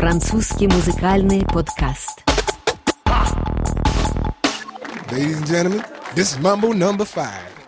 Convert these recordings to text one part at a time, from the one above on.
Французский музыкальный подкаст. Ladies and gentlemen, this is Mambo number 5.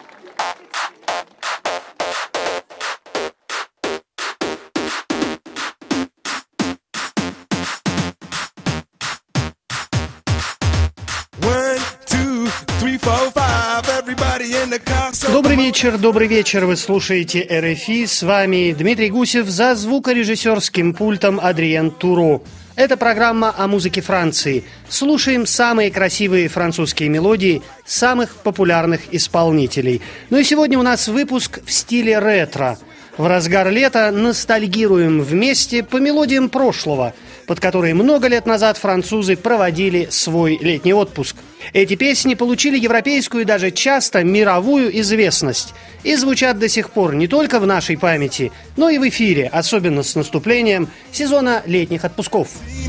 Добрый вечер, вы слушаете РФИ, с вами Дмитрий Гусев, за звукорежиссерским пультом Адриен Туро. Это программа о музыке Франции. Слушаем самые красивые французские мелодии самых популярных исполнителей. Ну и сегодня у нас выпуск в стиле ретро. В разгар лета ностальгируем вместе по мелодиям прошлого, под которые много лет назад французы проводили свой летний отпуск. Эти песни получили европейскую и даже часто мировую известность и звучат до сих пор не только в нашей памяти, но и в эфире, особенно с наступлением сезона летних отпусков.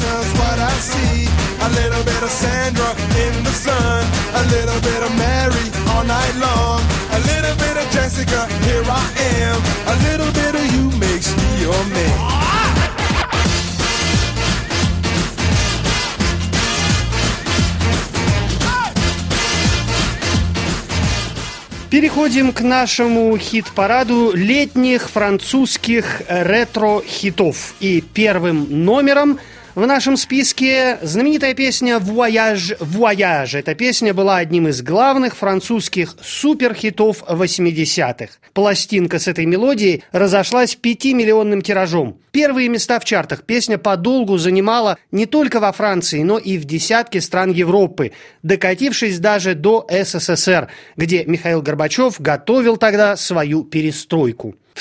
Переходим к нашему хит-параду летних французских ретро-хитов. И первым номером в нашем списке знаменитая песня «Voyage, Voyage». Эта песня была одним из главных французских суперхитов 80-х. Пластинка с этой мелодией разошлась 5-миллионным тиражом. Первые места в чартах песня подолгу занимала не только во Франции, но и в десятке стран Европы, докатившись даже до СССР, где Михаил Горбачев готовил тогда свою перестройку. В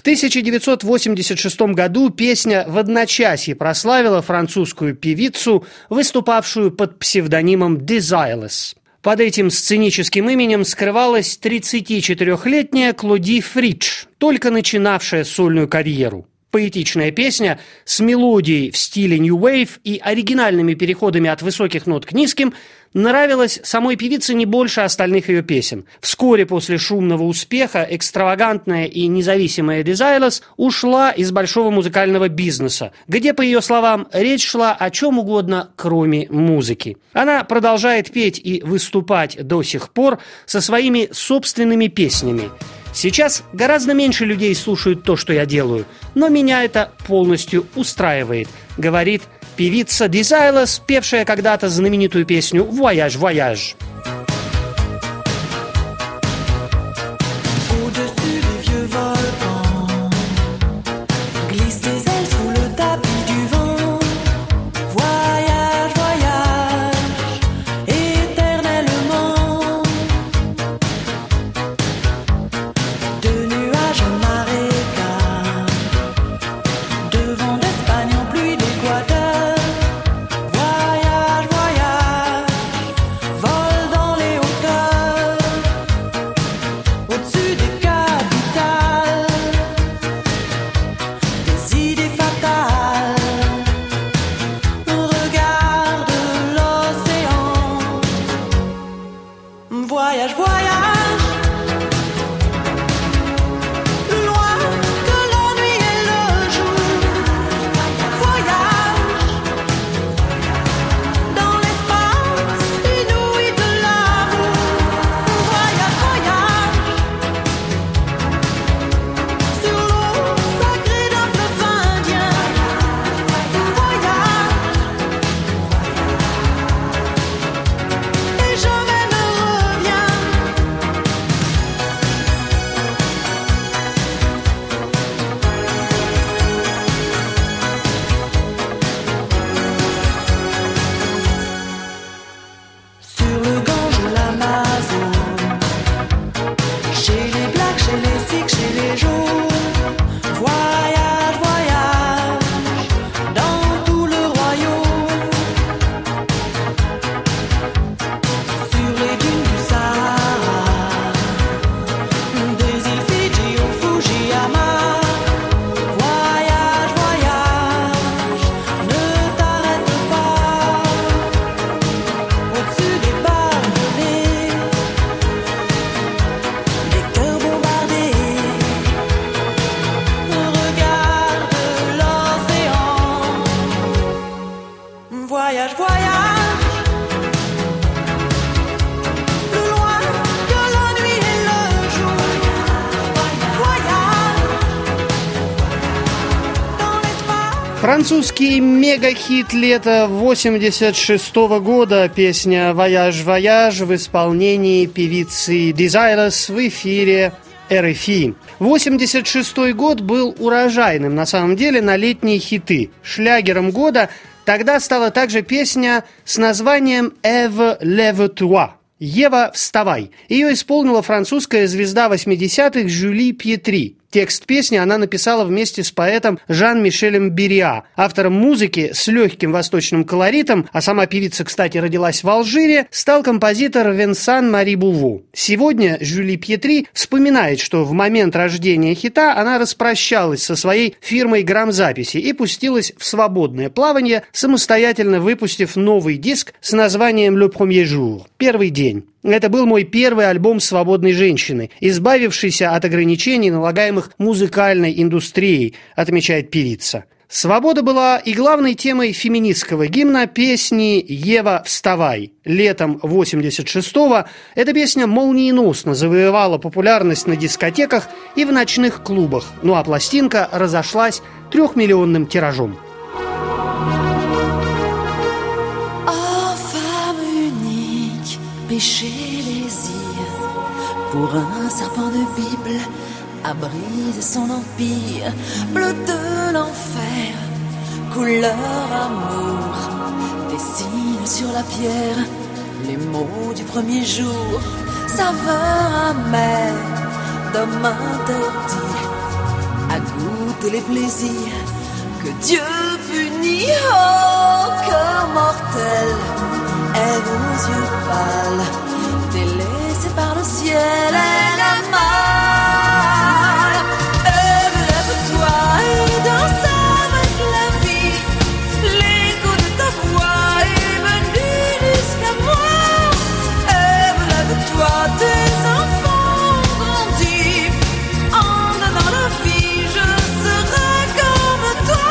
1986 году песня в одночасье прославила французскую певицу, выступавшую под псевдонимом Desireless. Под этим сценическим именем скрывалась 34-летняя Клоди Фридж, только начинавшая сольную карьеру. Поэтичная песня с мелодией в стиле New Wave и оригинальными переходами от высоких нот к низким нравилась самой певице не больше остальных ее песен. Вскоре после шумного успеха экстравагантная и независимая Desireless ушла из большого музыкального бизнеса, где, по ее словам, речь шла о чем угодно, кроме музыки. Она продолжает петь и выступать до сих пор со своими собственными песнями. Сейчас гораздо меньше людей слушают то, что я делаю, но меня это полностью устраивает, говорит певица Desireless, певшая когда-то знаменитую песню «Voyage, Voyage». Vol Французский мегахит лета 1986 года, песня «Voyage, Voyage» в исполнении певицы Desirous в эфире RFI. 1986 год был урожайным, на самом деле, на летние хиты. Шлягером года тогда стала также песня с названием «Ève, lève-toi». «Ева, вставай». Ее исполнила французская звезда 80-х Жюли Пьетри. Текст песни она написала вместе с поэтом Жан-Мишелем Берриа, автором музыки с легким восточным колоритом, а сама певица, кстати, родилась в Алжире, стал композитор Венсан Мари Буву. Сегодня Жюли Пьетри вспоминает, что в момент рождения хита она распрощалась со своей фирмой грамзаписи и пустилась в свободное плавание, самостоятельно выпустив новый диск с названием «Le premier jour» – «Первый день». Это был мой первый альбом свободной женщины, избавившейся от ограничений, налагаемых музыкальной индустрией, отмечает певица. Свобода была и главной темой феминистского гимна песни «Ева, вставай». Летом 86-го эта песня молниеносно завоевала популярность на дискотеках и в ночных клубах, ну а пластинка разошлась 3-миллионным тиражом. Péché désir pour un serpent de Bible a brisé son empire, bleu de l'enfer, couleur amour, dessine sur la pierre les mots du premier jour, saveur amère d'homme interdit à goûter les plaisirs que Dieu punit. Oh, cœur mortel, elle aux yeux pâles, délaissée par le ciel, elle a mal. Lève-toi et danse avec la vie, l'écho de ta voix est venu jusqu'à moi. Lève-toi, tes enfants ont grandi, en donnant la vie, je serai comme toi.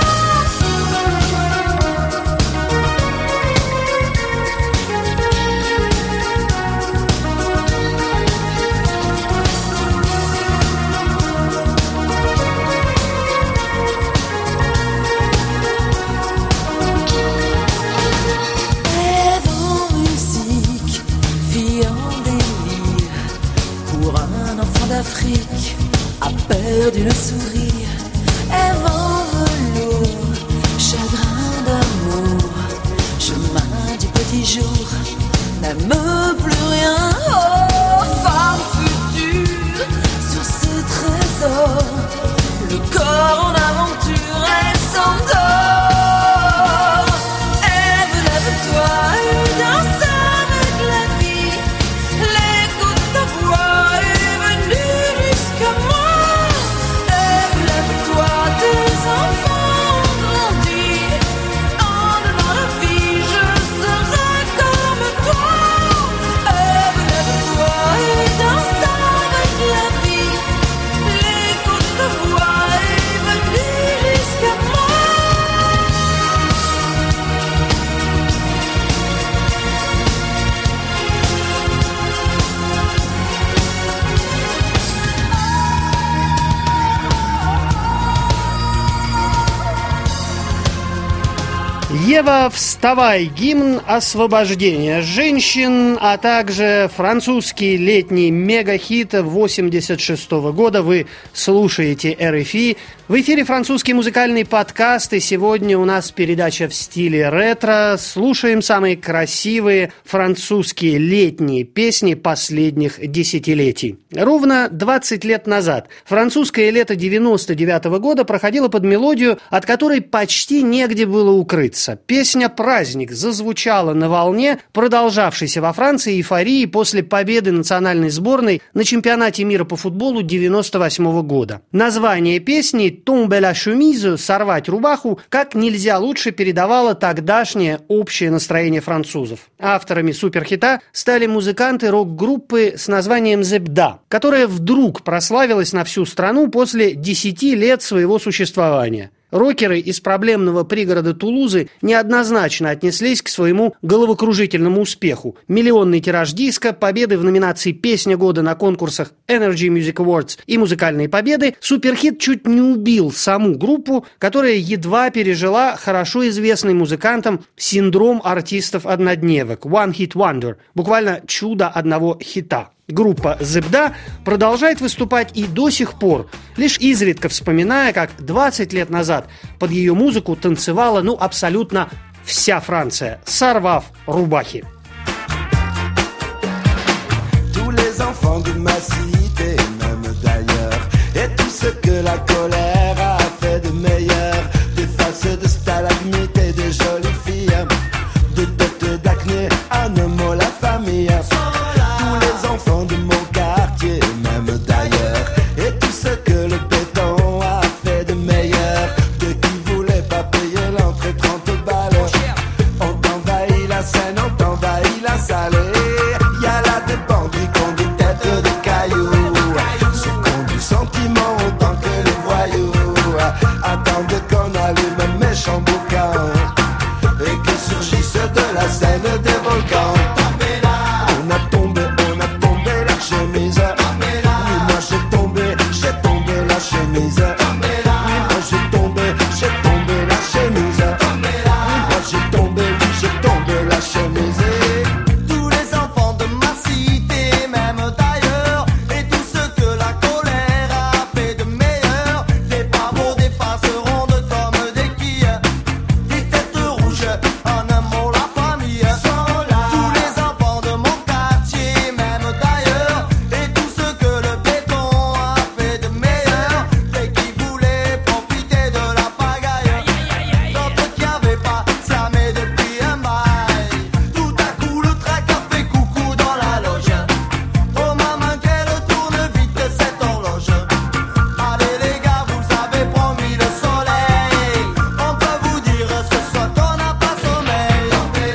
L'Afrique a perdu le sourire, Ève en velours, chagrin d'amour, chemin du petit jour, n'aime plus rien. Oh, femme future, sur ce trésor, le corps en aventure, elle s'endort. Ève, lève-toi et danse avec la vie, l'écho de ta voix est venu jusqu'à moi. Ève, lève-toi, tes enfants ont grandi, en donnant la vie, je serai comme toi. Ève, lève-toi et danse avec la vie, l'écho de ta voix est venu jusqu'à moi. «Ева, вставай» – гимн освобождения женщин, а также французский летний мегахит 1986 года. Вы слушаете RFI. В эфире французский музыкальный подкаст, и сегодня у нас передача в стиле ретро. Слушаем самые красивые французские летние песни последних десятилетий. Ровно 20 лет назад французское лето 99 года проходило под мелодию, от которой почти негде было укрыться. Песня «Праздник» зазвучала на волне продолжавшейся во Франции эйфории после победы национальной сборной на чемпионате мира по футболу 98 года. Название песни «Tomber la chemise» – «Сорвать рубаху» как нельзя лучше передавало тогдашнее общее настроение французов. Авторами суперхита стали музыканты рок-группы с названием «Zebda», которая вдруг прославилась на всю страну после 10 лет своего существования. Рокеры из проблемного пригорода Тулузы неоднозначно отнеслись к своему головокружительному успеху. Миллионный тираж диска, победы в номинации «Песня года» на конкурсах Energy Music Awards и музыкальные победы, суперхит чуть не убил саму группу, которая едва пережила хорошо известный музыкантам синдром артистов-однодневок One Hit Wonder, буквально чудо одного хита. Группа «Зебда» продолжает выступать и до сих пор, лишь изредка вспоминая, как 20 лет назад под ее музыку танцевала абсолютно вся Франция, сорвав рубахи. Tous les enfants de ma cité, même d'ailleurs, et tout ce que la colère a fait de meilleur, des faces de stalagmites et de jolies filles, de têtes d'acné à Nemo la famille. Tous les enfants de mon quartier, même d'ailleurs, et tout ce que le béton a fait de meilleur, de qui voulait pas payer l'entrée 30 balles. On t'envahit la Seine, on t'envahit la salle. Y a là des bandits qui ont des têtes de cailloux, ceux qui ont du sentiment autant que les voyous, attendent qu'on allume un méchant boucan et que surgissent de la Seine des volcans. On a tombé la chemise. Oui, moi j'ai tombé la chemise. Oui, moi j'ai tombé la chemise. Oui, moi j'ai tombé la chemise. Tous les enfants de ma cité, même d'ailleurs, et tout ce que la colère a fait de meilleur, des pavots, des faces rondes comme des quilles, des têtes rouges, en un mot la famille. Tous les enfants de mon quartier, même d'ailleurs, et tout ce que le béton a fait de meilleur, et qui voulaient profiter de la pagaille, d'autres qui avaient pas s'armé depuis un bail. Tout à coup le trac a fait coucou dans la loge. Oh maman qu'elle tourne vite cette horloge. Allez les gars, vous avez promis le soleil. On peut vous dire ce soir qu'on n'a pas sommeil.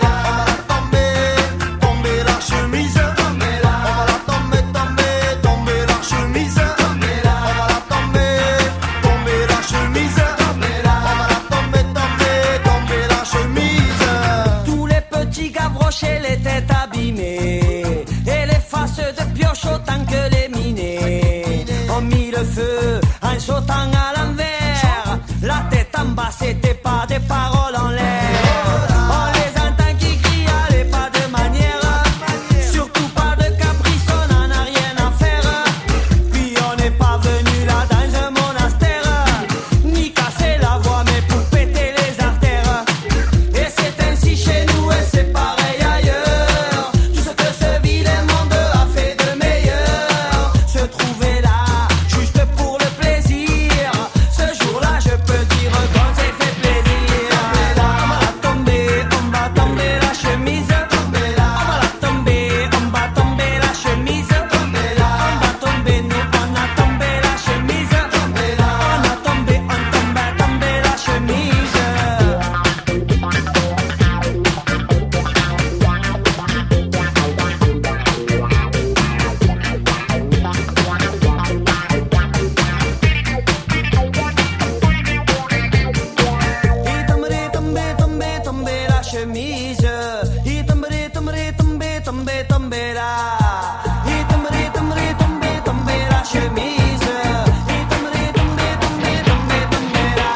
Tomber la chemise. On va la tomber la chemise. On va la tomber la chemise. On va la tomber la chemise. Tous les petits gavroches et les têtes abîmées, et les faces de pioche autant que les minés, ont mis le feu en sautant à l'envers. La tête en bas, c'était pas des paroles en l'air. On les entend qui crient, allez pas de manière, surtout pas de caprice, on en a rien à faire. Puis on n'est pas venu là dans un monastère, ni casser la voix mais pour péter les artères. Et c'est ainsi chez nous et c'est pareil ailleurs. Tout ce que ce vilain monde a fait de meilleur, se trouver là juste pour le plaisir. Ce jour-là je peux dire qu'on s'est fait plaisir. On va tomber la chemise. On va la tomber la chemise. On va tomber, nous on a tombé la chemise. On a tombé la chemise. Tomber la chemise. Il tomber là. Il tomber la chemise. Il tomber là.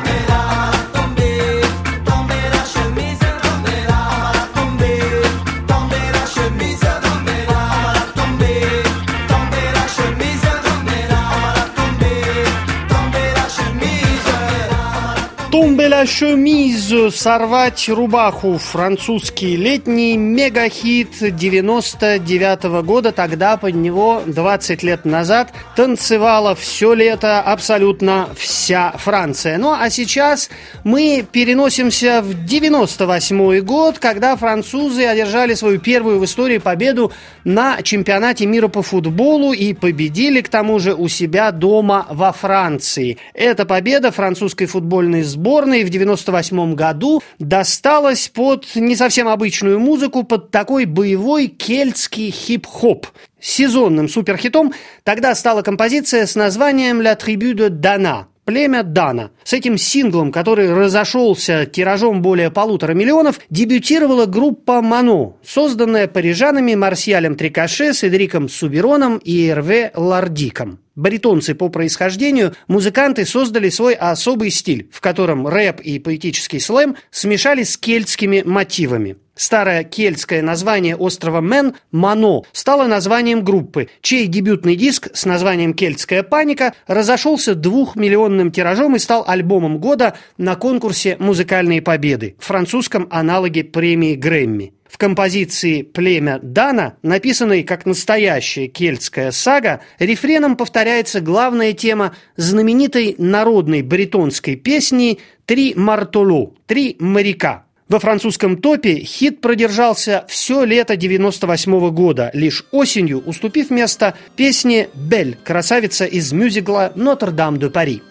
Tomber la chemise. On va la tomber la chemise. On va la tomber la chemise. On va la tomber la chemise. «Тумбеля шемиз» — «Сорвать рубаху», французский летний мегахит 99-го года. Тогда под него 20 лет назад танцевала все лето абсолютно вся Франция. Ну а сейчас мы переносимся в 98-й год, когда французы одержали свою первую в истории победу на чемпионате мира по футболу и победили, к тому же, у себя дома во Франции. Эта победа французской футбольной сборной в 98 году досталась под не совсем обычную музыку, под такой боевой кельтский хип-хоп. Сезонным суперхитом тогда стала композиция с названием «La tribu de Dana». «Племя Дана». С этим синглом, который разошелся тиражом более 1,5 миллиона, дебютировала группа «Мано», созданная парижанами Марсиалем Трикаше, Седриком Субероном и Эрве Лардиком. Баритонцы по происхождению, музыканты создали свой особый стиль, в котором рэп и поэтический слэм смешались с кельтскими мотивами. Старое кельтское название острова Мен, Мано, стало названием группы, чей дебютный диск с названием «Кельтская паника» разошелся 2-миллионным тиражом и стал альбомом года на конкурсе «Музыкальные победы», французском аналоге премии Грэмми. В композиции «Племя Дана», написанной как настоящая кельтская сага, рефреном повторяется главная тема знаменитой народной баритонской песни «Три мартоло» – «Три моряка». Во французском топе хит продержался все лето 1998 года, лишь осенью уступив место песне «Бель» – красавица из мюзикла «Нотр-Дам-де-Пари».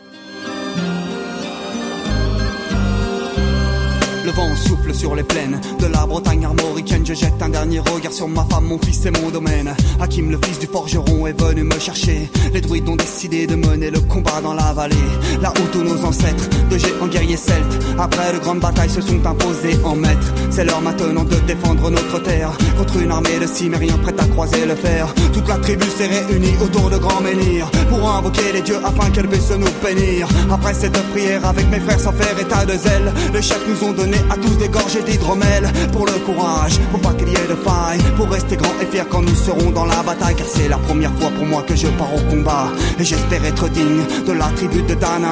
Le vent souffle sur les plaines de la Bretagne armoricaine. Je jette un dernier regard sur ma femme, mon fils et mon domaine. Hakim, le fils du forgeron, est venu me chercher. Les druides ont décidé de mener le combat dans la vallée, là où tous nos ancêtres, de géants guerriers celtes, après de grandes batailles se sont imposés en maîtres. C'est l'heure maintenant de défendre notre terre contre une armée de cimériens prête à croiser le fer. Toute la tribu s'est réunie autour de grands menhirs pour invoquer les dieux afin qu'elle puisse nous bénir. Après cette prière avec mes frères sans faire état de zèle, les chefs nous ont donné à tous des gorgées d'hydromel. Pour le courage, pour pas qu'il y ait de faille, pour rester grand et fier quand nous serons dans la bataille. Car c'est la première fois pour moi que je pars au combat, et j'espère être digne de la tribu de Dana.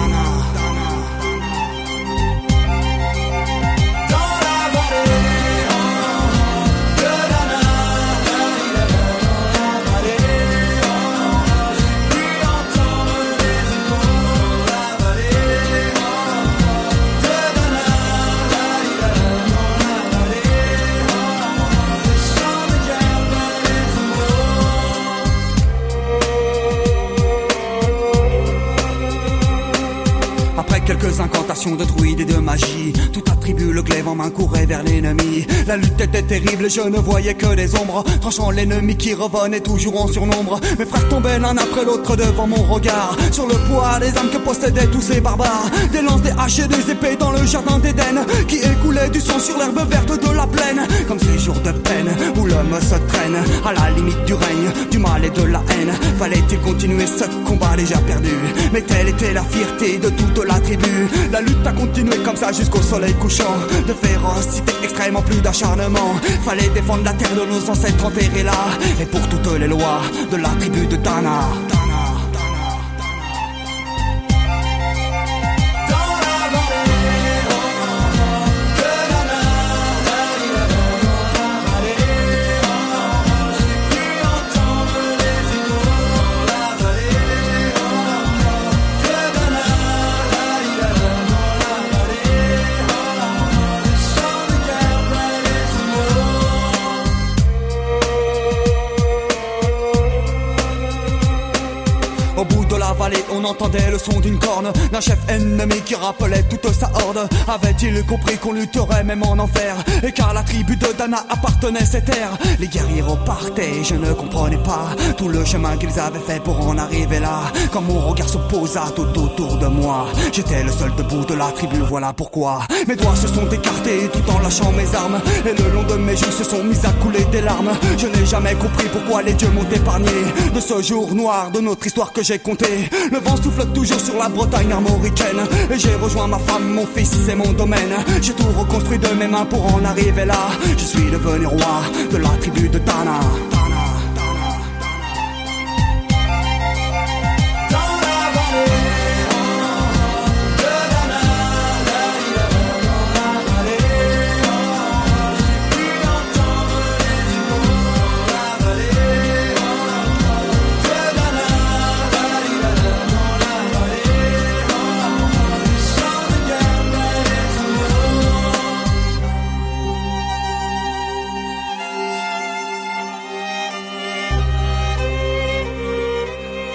Quelques incantations de druides et de magie, tout attribue le glaive en main courait vers l'ennemi. La lutte était terrible, je ne voyais que des ombres, tranchant l'ennemi qui revenait toujours en surnombre. Mes frères tombaient l'un après l'autre devant mon regard, sur le poids des âmes que possédaient tous ces barbares. Des lances, des haches et des épées dans le jardin d'Éden, qui écoulait du sang sur l'herbe verte de la plaine. Comme ces jours de peine où l'homme se traîne à la limite du règne, du mal et de la haine. Fallait-il continuer ce combat déjà perdu? Mais telle était la fierté de toute la tribu. La lutte a continué comme ça jusqu'au soleil couchant. De férocité extrême en plus d'acharnement. Fallait défendre la terre de nos ancêtres enterrés là, et pour toutes les lois de la tribu de Dana. On entendait le son d'une corne, d'un chef ennemi qui rappelait toute sa horde. Avait-il compris qu'on lutterait même en enfer, et qu'à la tribu de Dana appartenait ces terres? Les guerriers repartaient, je ne comprenais pas tout le chemin qu'ils avaient fait pour en arriver là. Quand mon regard se posa tout autour de moi, j'étais le seul debout de la tribu, voilà pourquoi mes doigts se sont écartés tout en lâchant mes armes, et le long de mes joues se sont mis à couler des larmes. Je n'ai jamais compris pourquoi les dieux m'ont épargné de ce jour noir de notre histoire que j'ai compté. Le vent souffle toujours sur la Bretagne armoricaine, et j'ai rejoint ma femme, mon fils et mon domaine. J'ai tout reconstruit de mes mains pour en arriver là. Je suis devenu roi de la tribu de Dana.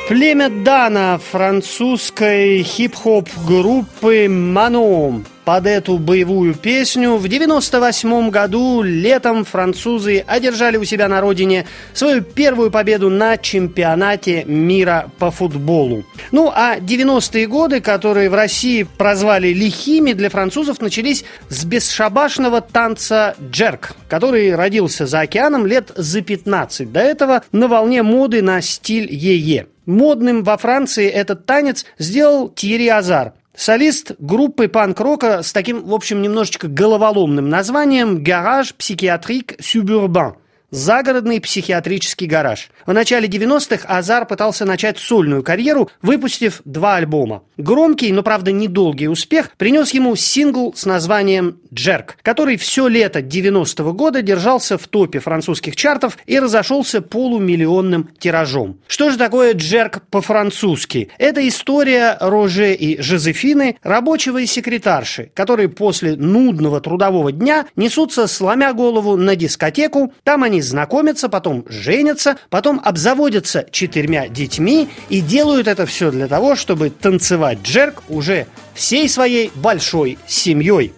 Племя Дана французской хип-хоп группы Mano. Под эту боевую песню в 1998 году летом французы одержали у себя на родине свою первую победу на чемпионате мира по футболу. Ну а 90-е годы, которые в России прозвали лихими, для французов начались с бесшабашного танца джерк, который родился за океаном лет за 15 до этого на волне моды на стиль йе-йе. Модным во Франции этот танец сделал Тьерри Азар, солист группы панк-рока с таким, в общем, немножечко головоломным названием «Garage Psychiatrique Suburbain». Загородный психиатрический гараж. В начале 90-х Азар пытался начать сольную карьеру, выпустив 2 альбома. Громкий, но, правда, недолгий успех принес ему сингл с названием «Джерк», который все лето 90-го года держался в топе французских чартов и разошелся полумиллионным тиражом. Что же такое джерк по-французски? Это история Роже и Жозефины, рабочего и секретарши, которые после нудного трудового дня несутся, сломя голову, на дискотеку. Там они знакомятся, потом женятся, потом обзаводятся 4 детьми и делают это все для того, чтобы танцевать джерк уже всей своей большой семьей.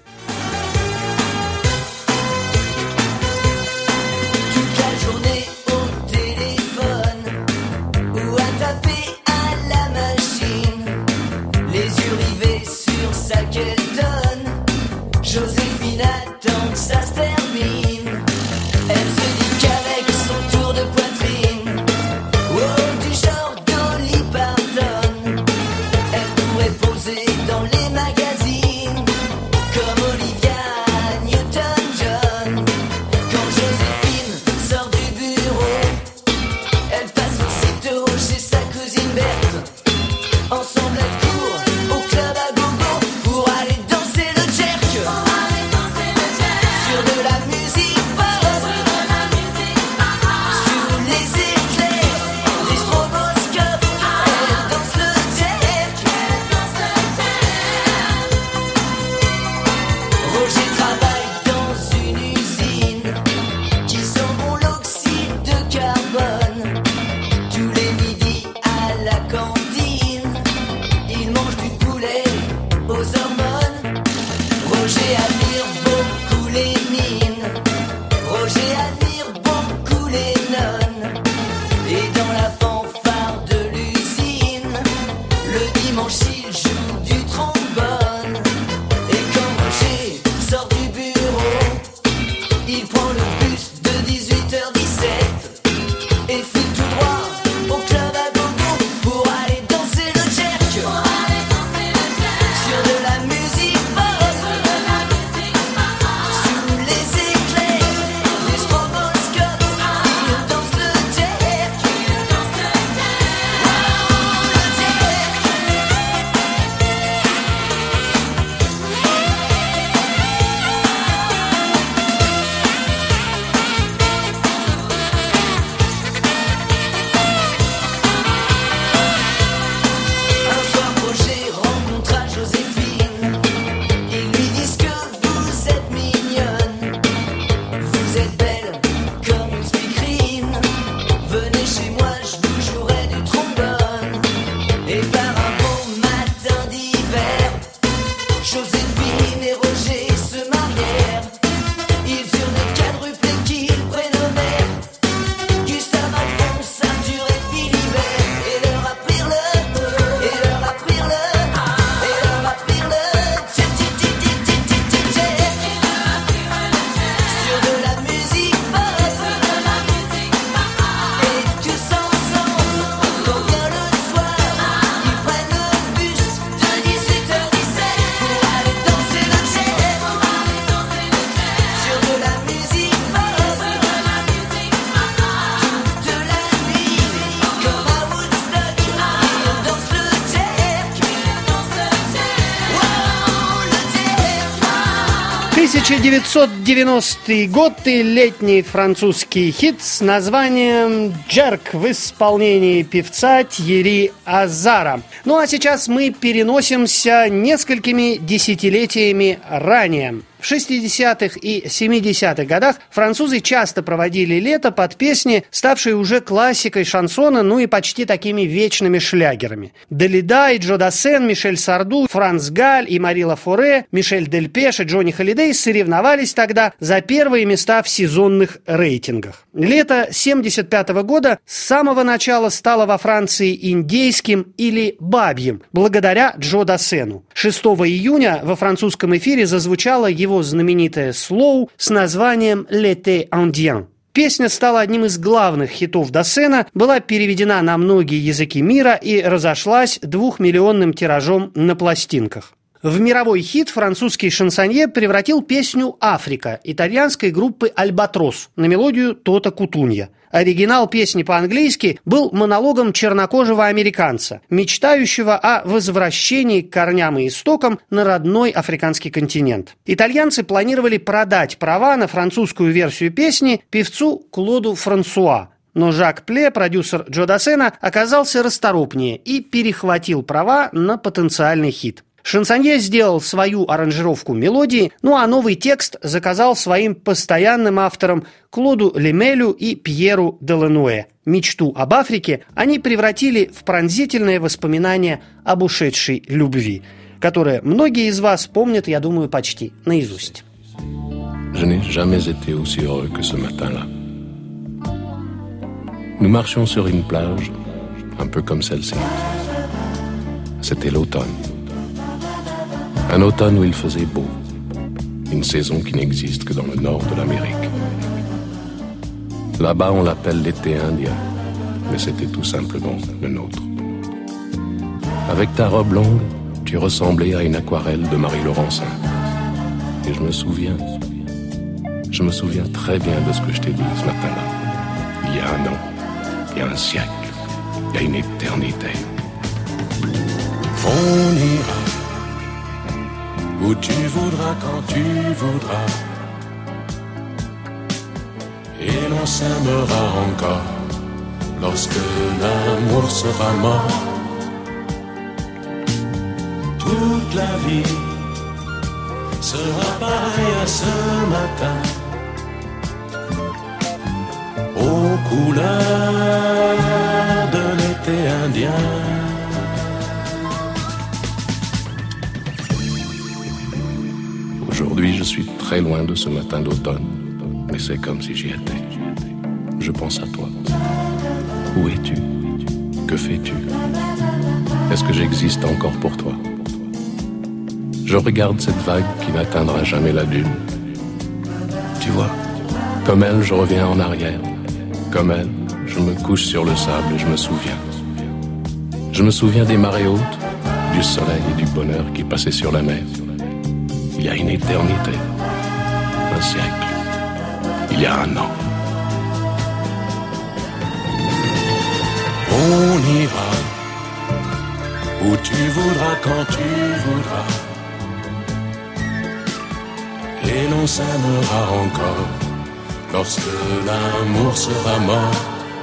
В 1990 год и летний французский хит с названием «Джерк» в исполнении певца Тьерри Азара. Ну а сейчас мы переносимся несколькими десятилетиями ранее. В 60-х и 70-х годах французы часто проводили лето под песни, ставшие уже классикой шансона, ну и почти такими вечными шлягерами. Далида и Джо Дассен, Мишель Сарду, Франц Галь и Мари Лафоре, Мишель Дельпеш и Джонни Холидей соревновались тогда за первые места в сезонных рейтингах. Лето 75 года с самого начала стало во Франции индейским или бабьим, благодаря Джо Дассену. 6 июня во французском эфире зазвучало его знаменитое «Слоу» с названием «L'été indien». Песня стала одним из главных хитов Дассена, была переведена на многие языки мира и разошлась 2-миллионным тиражом на пластинках. В мировой хит французский шансонье превратил песню «Африка» итальянской группы «Альбатрос» на мелодию Тота Кутунья. Оригинал песни по-английски был монологом чернокожего американца, мечтающего о возвращении к корням и истокам на родной африканский континент. Итальянцы планировали продать права на французскую версию песни певцу Клоду Франсуа. Но Жак Пле, продюсер Джо Дассена, оказался расторопнее и перехватил права на потенциальный хит. Шансонье сделал свою аранжировку мелодии, ну а новый текст заказал своим постоянным авторам Клоду Лемелю и Пьеру Делануэ. Мечту об Африке они превратили в пронзительное воспоминание об ушедшей любви, которое многие из вас помнят, я думаю, почти наизусть. Je n'ai jamais été aussi heureux que ce matin-là. Nous marchions sur une plage, un peu comme celle-ci. C'était l'automne. Un automne où il faisait beau. Une saison qui n'existe que dans le nord de l'Amérique. Là-bas, on l'appelle l'été indien, mais c'était tout simplement le nôtre. Avec ta robe longue, tu ressemblais à une aquarelle de Marie Laurencin. Et je me souviens très bien de ce que je t'ai dit ce matin-là. Il y a un an, il y a un siècle, il y a une éternité. On ira où tu voudras, quand tu voudras, et l'on s'aimera encore lorsque l'amour sera mort. Toute la vie sera pareille à ce matin, aux couleurs de l'été indien. Aujourd'hui, je suis très loin de ce matin d'automne, mais c'est comme si j'y étais. Je pense à toi. Où es-tu? Que fais-tu? Est-ce que j'existe encore pour toi? Je regarde cette vague qui n'atteindra jamais la dune. Tu vois, comme elle, je reviens en arrière. Comme elle, je me couche sur le sable et je me souviens. Je me souviens des marées hautes, du soleil et du bonheur qui passaient sur la mer. Il y a une éternité, un siècle, il y a un an. On ira où tu voudras, quand tu voudras, et l'on s'aimera encore lorsque l'amour sera mort.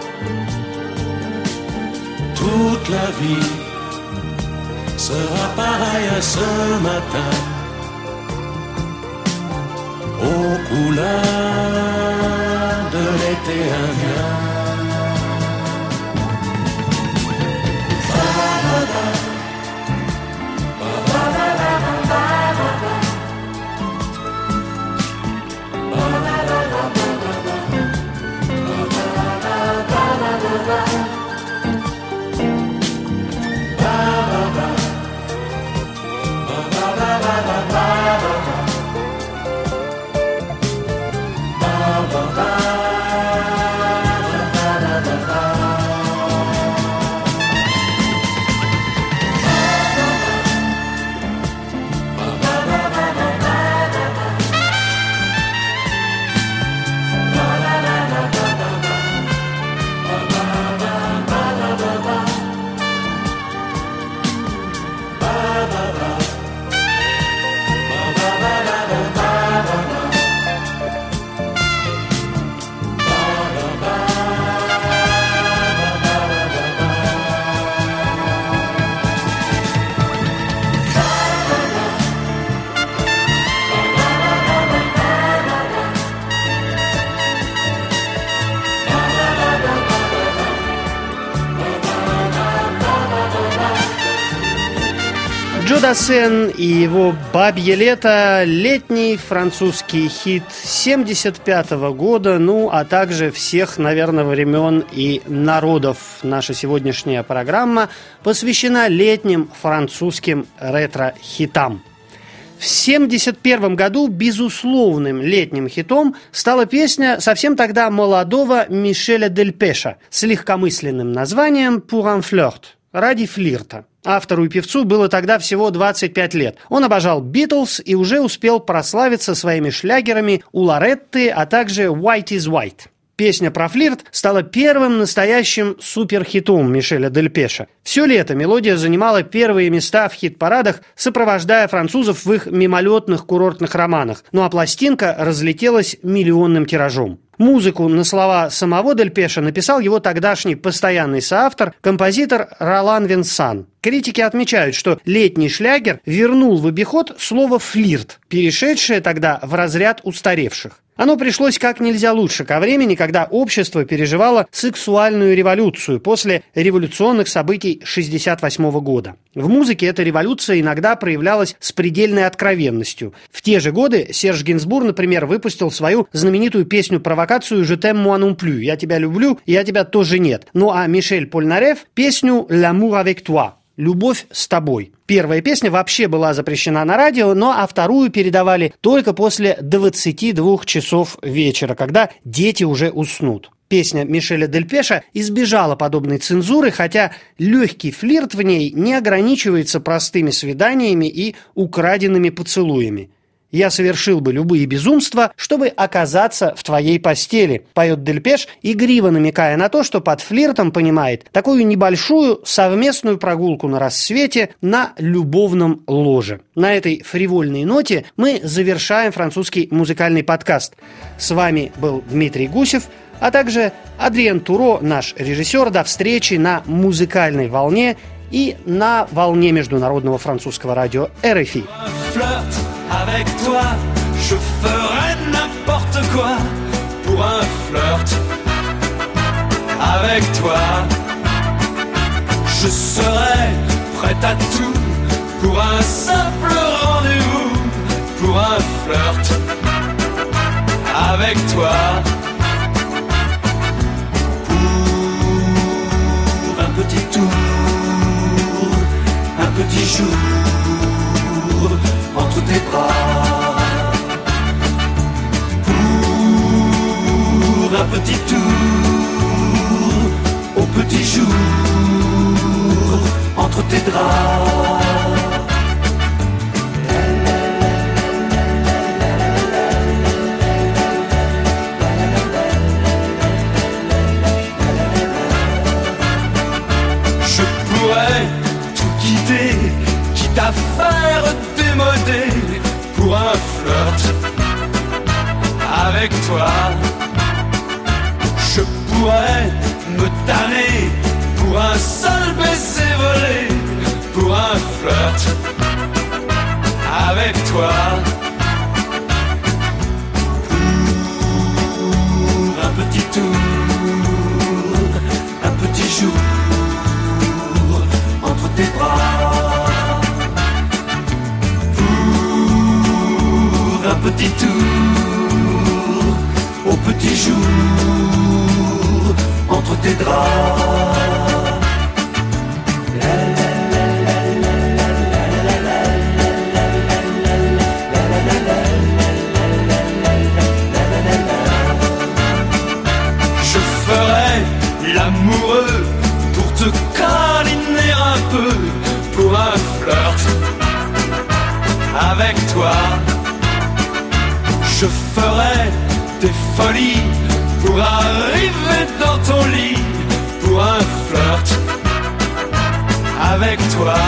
Toute la vie sera pareille à ce matin, aux couleurs de l'été indien. Дасен и его «Бабье лето» — летний французский хит 1975 года, ну, а также всех, наверное, времен и народов. Наша сегодняшняя программа посвящена летним французским ретро-хитам. В 1971 году безусловным летним хитом стала песня совсем тогда молодого Мишеля Дельпеша с легкомысленным названием «Pour un flirt» — «Ради флирта». Автору и певцу было тогда всего 25 лет. Он обожал Битлз и уже успел прославиться своими шлягерами у Лоретты, а также «White is White». Песня про флирт стала первым настоящим суперхитом Мишеля Дельпеша. Все лето мелодия занимала первые места в хит-парадах, сопровождая французов в их мимолетных курортных романах. Ну а пластинка разлетелась миллионным тиражом. Музыку на слова самого Дельпеша написал его тогдашний постоянный соавтор, композитор Ролан Винсан. Критики отмечают, что летний шлягер вернул в обиход слово «флирт», перешедшее тогда в разряд устаревших. Оно пришлось как нельзя лучше ко времени, когда общество переживало сексуальную революцию после революционных событий 1968 года. В музыке эта революция иногда проявлялась с предельной откровенностью. В те же годы Серж Гинзбур, например, выпустил свою знаменитую песню-провокацию «Je t'aime moi non plus» — «Я тебя люблю, я тебя тоже нет». Ну а Мишель Польнареф — песню «L'amour avec toi» — «Любовь с тобой». Первая песня вообще была запрещена на радио, а вторую передавали только после 22 часов вечера, когда дети уже уснут. Песня Мишеля Дельпеша избежала подобной цензуры, хотя легкий флирт в ней не ограничивается простыми свиданиями и украденными поцелуями. «Я совершил бы любые безумства, чтобы оказаться в твоей постели», поет Дельпеш, игриво намекая на то, что под флиртом понимает такую небольшую совместную прогулку на рассвете на любовном ложе. На этой фривольной ноте мы завершаем французский музыкальный подкаст. С вами был Дмитрий Гусев, а также Адриен Туро, наш режиссер. До встречи на музыкальной волне и на волне международного французского радио РФИ. Avec toi, je ferai n'importe quoi pour un flirt. Avec toi, je serai prêt à tout pour un simple rendez-vous, pour un flirt. Avec toi, pour un petit tour, un petit jour entre tes bras, pour un petit tour au petit jour entre tes draps. Je pourrais tout quitter, quitte à faire démodé pour un flirt. Avec toi, je pourrais me tanner pour un seul baiser volé, pour un flirt. Avec toi, pour un petit tour, un petit jour entre tes bras. Un petit tour au petit jour entre tes draps. Je ferai l'amoureux pour te câliner un peu, pour un flirt. Avec toi, je ferai des folies pour arriver dans ton lit, pour un flirt. Avec toi,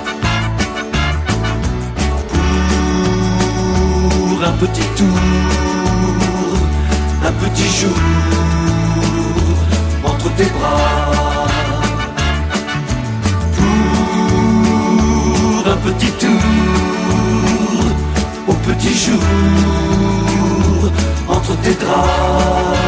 pour un petit tour, un petit jour entre tes bras, pour un petit tour au petit jour entre tes draps.